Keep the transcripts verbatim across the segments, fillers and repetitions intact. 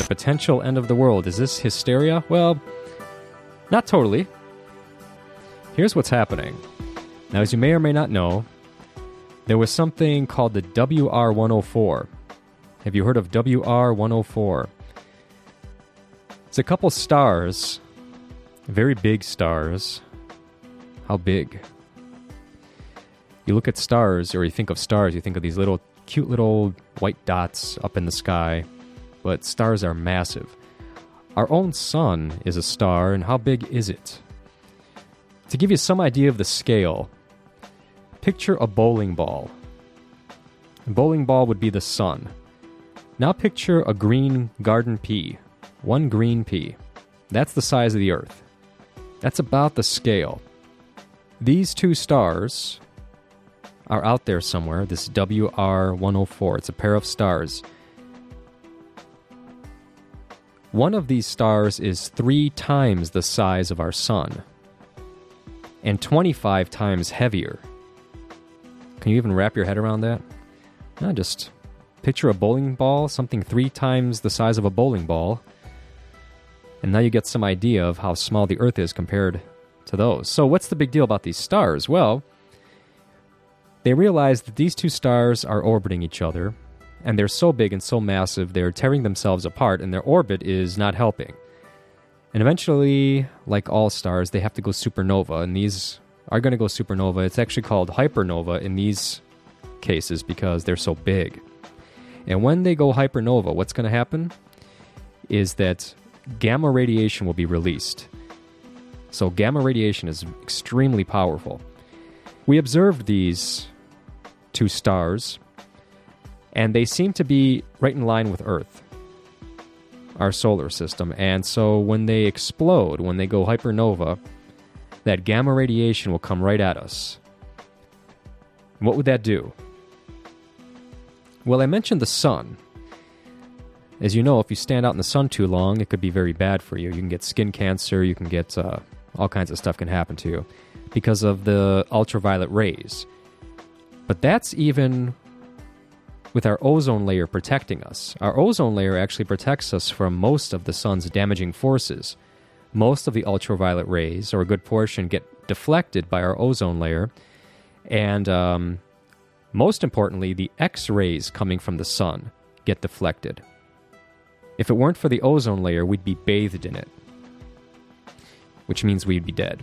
the potential end of the world. Is this hysteria? Well, not totally. Here's what's happening. Now, as you may or may not know, there was something called the W R one oh four. Have you heard of W R one oh four? It's a couple stars, very big stars. How big? You look at stars, or you think of stars, you think of these little, cute little white dots up in the sky, but stars are massive. Our own sun is a star, and how big is it? To give you some idea of the scale, picture a bowling ball. A bowling ball would be the sun. Now picture a green garden pea. One green pea. That's the size of the Earth. That's about the scale. These two stars are out there somewhere, this W R one oh four. It's a pair of stars. One of these stars is three times the size of our sun, and twenty-five times heavier. Can you even wrap your head around that? No, just picture a bowling ball, something three times the size of a bowling ball, and now you get some idea of how small the Earth is compared to those. So what's the big deal about these stars? Well, they realized that these two stars are orbiting each other, and they're so big and so massive, they're tearing themselves apart, and their orbit is not helping. And eventually, like all stars, they have to go supernova, and these are going to go supernova. It's actually called hypernova in these cases because they're so big. And when they go hypernova, what's going to happen is that gamma radiation will be released. So gamma radiation is extremely powerful. We observed these two stars, and they seem to be right in line with Earth, our solar system. And so when they explode, when they go hypernova, that gamma radiation will come right at us. What would that do? Well, I mentioned the sun. As you know, if you stand out in the sun too long, it could be very bad for you. You can get skin cancer, you can get uh, all kinds of stuff can happen to you because of the ultraviolet rays. But that's even with our ozone layer protecting us. Our ozone layer actually protects us from most of the sun's damaging forces. Most of the ultraviolet rays, or a good portion, get deflected by our ozone layer. And um, most importantly, the X-rays coming from the sun get deflected. If it weren't for the ozone layer, we'd be bathed in it, which means we'd be dead.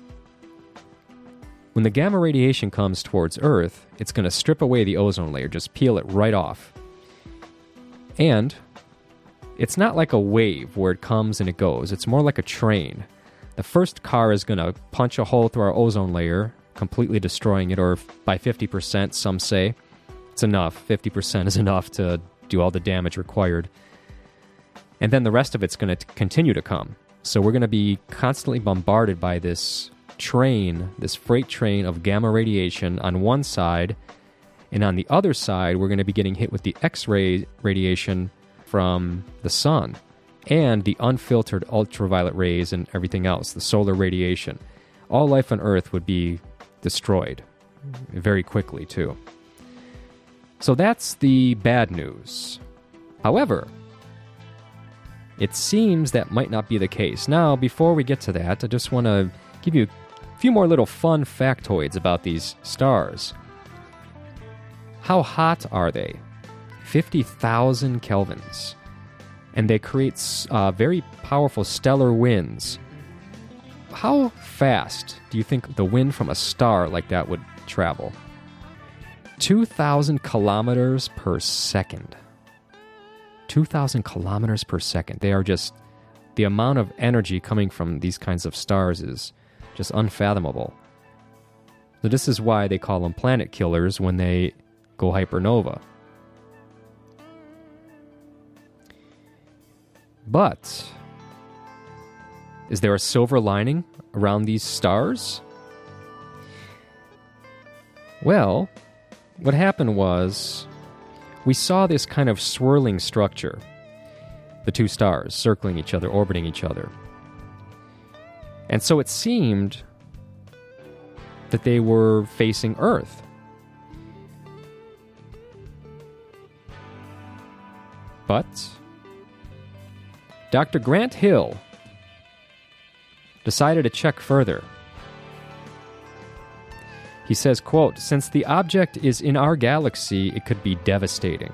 When the gamma radiation comes towards Earth, it's going to strip away the ozone layer, just peel it right off. And it's not like a wave where it comes and it goes. It's more like a train. The first car is going to punch a hole through our ozone layer, completely destroying it, or by fifty percent, some say. It's enough. fifty percent is enough to do all the damage required. And then the rest of it's going to continue to come. So we're going to be constantly bombarded by this train, this freight train of gamma radiation on one side, and on the other side, we're going to be getting hit with the X-ray radiation from the sun and the unfiltered ultraviolet rays and everything else, the solar radiation. All life on Earth would be destroyed very quickly, too. So that's the bad news. However, it seems that might not be the case. Now, before we get to that, I just want to give you a few more little fun factoids about these stars. How hot are they? fifty thousand kelvins. And they create uh, very powerful stellar winds. How fast do you think the wind from a star like that would travel? two thousand kilometers per second. two thousand kilometers per second. They are just, the amount of energy coming from these kinds of stars is just unfathomable. So this is why they call them planet killers when they go hypernova. But is there a silver lining around these stars? Well, what happened was we saw this kind of swirling structure, the two stars circling each other, orbiting each other. And so it seemed that they were facing Earth. But Doctor Grant Hill decided to check further. He says, quote, "Since the object is in our galaxy, it could be devastating."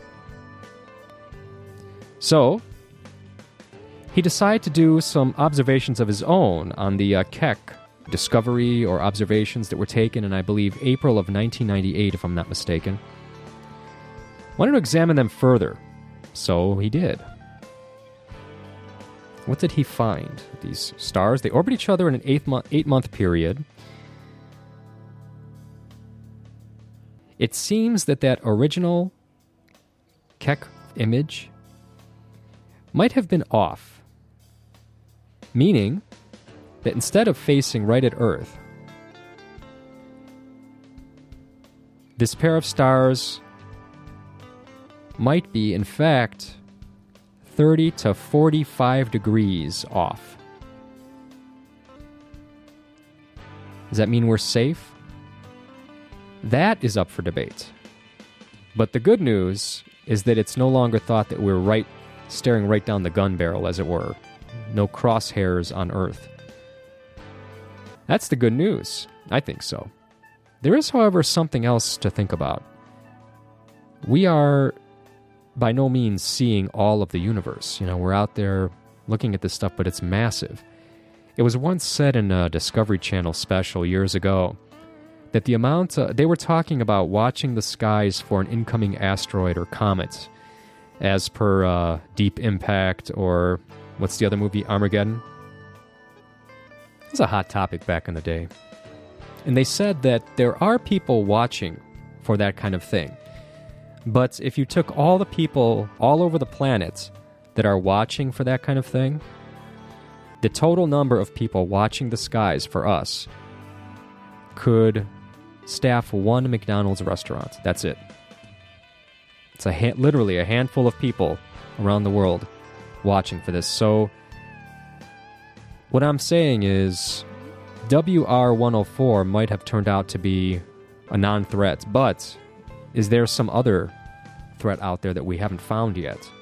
So, he decided to do some observations of his own on the uh, Keck discovery or observations that were taken in, I believe, April of nineteen ninety-eight, if I'm not mistaken. Wanted to examine them further, so he did. What did he find? These stars, they orbit each other in an eight month, eight month period. It seems that that original Keck image might have been off, meaning that instead of facing right at Earth, this pair of stars might be, in fact, thirty to forty-five degrees off. Does that mean we're safe? That is up for debate. But the good news is that it's no longer thought that we're right, staring right down the gun barrel, as it were. No crosshairs on Earth. That's the good news. I think so. There is, however, something else to think about. We are by no means seeing all of the universe. You know, we're out there looking at this stuff, but it's massive. It was once said in a Discovery Channel special years ago that the amount, uh, they were talking about watching the skies for an incoming asteroid or comet, as per uh, Deep Impact, or what's the other movie, Armageddon? It was a hot topic back in the day. And they said that there are people watching for that kind of thing. But if you took all the people all over the planet that are watching for that kind of thing, the total number of people watching the skies for us could staff one McDonald's restaurant. That's it. It's a ha- literally a handful of people around the world watching for this. So what I'm saying is W R one oh four might have turned out to be a non-threat, but is there some other threat out there that we haven't found yet?